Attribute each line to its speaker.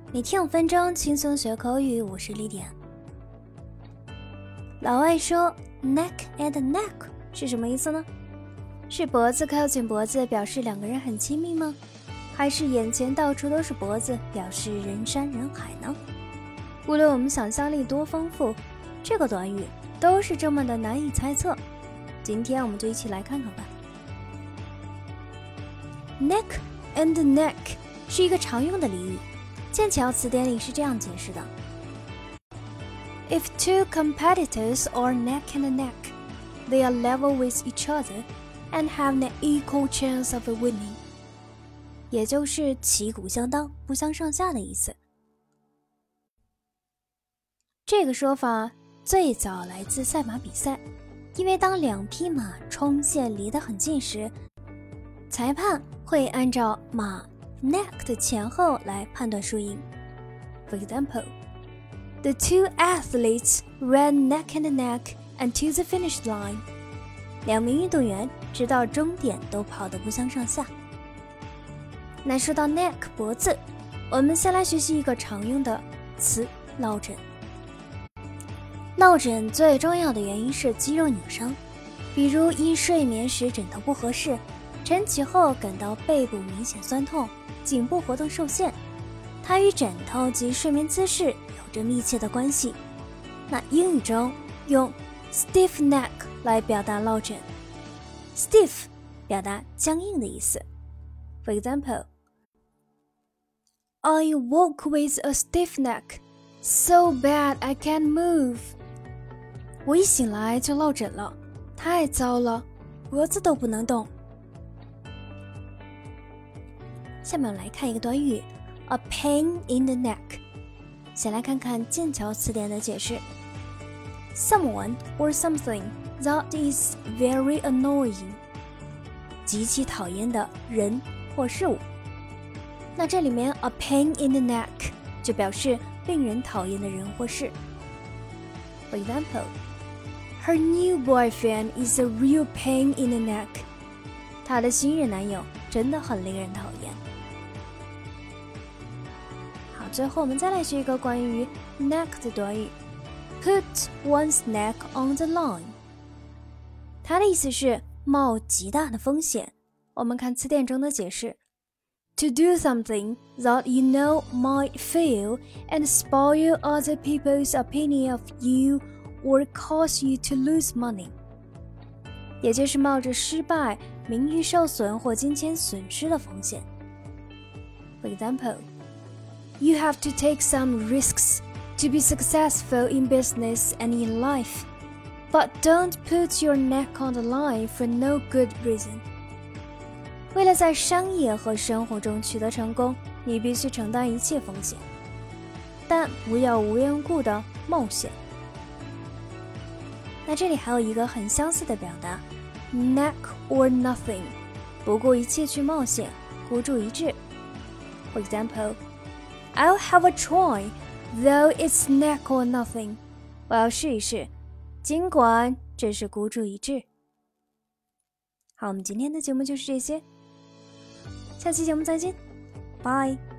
Speaker 1: 每天5分钟轻松学口语，我是丽典。老外说 neck and neck 是什么意思呢？是脖子靠近脖子表示两个人很亲密吗？还是眼前到处都是脖子表示人山人海呢？无论我们想象力多丰富，这个短语都是这么的难以猜测。今天我们就一起来看看吧。Neck and neck 是一个常用的俚语，剑桥词典里是这样解释的。If two competitors are neck and neck, they are level with each other and have an equal chance of winning. 也就是旗鼓相当，不相上下的意思。这个说法最早来自赛马比赛，因为当两匹马冲线离得很近时，裁判会按照马 neck 的前后来判断输赢。For example, the two athletes ran neck and neck until the finish line. 两名运动员直到终点都跑得不相上下。那说到 neck 脖子，我们先来学习一个常用的词落枕。落枕最重要的原因是肌肉扭伤，比如因睡眠时枕头不合适，晨起后感到背部明显酸痛，颈部活动受限，它与枕头及睡眠姿势有着密切的关系。那英语中用 stiff neck 来表达落枕， stiff 表达僵硬的意思。 For example, I woke with a stiff neck, so bad I can't move. 我一醒来就落枕了，太糟了，脖子都不能动。下面我们来看一个短语 A pain in the neck。 先来看看剑桥词典的解释。 Someone or something that is very annoying， 极其讨厌的人或事物。那这里面 A pain in the neck 就表示令人讨厌的人或事。 For example, her new boyfriend is a real pain in the neck。 她的新任男友真的很令人讨厌。好，最后我们再来学一个关于 neck 的短语 Put one's neck on the line。 它的意思是冒极大的风险。我们看词典中的解释。To do something that you know might fail and spoil other people's opinion of you or cause you to lose money， 也就是冒着失败、名誉受损或金钱损失的风险。 For example, you have to take some risks to be successful in business and in life, but don't put your neck on the line for no good reason。为了在商业和生活中取得成功，你必须承担一切风险，但不要无缘无故的冒险。那这里还有一个很相似的表达 neck or nothing， 不顾一切去冒险，孤注一掷。 For example, I'll have a try, though it's neck or nothing。 我要试一试，尽管这是孤注一掷。好，我们今天的节目就是这些，下期节目再见，拜。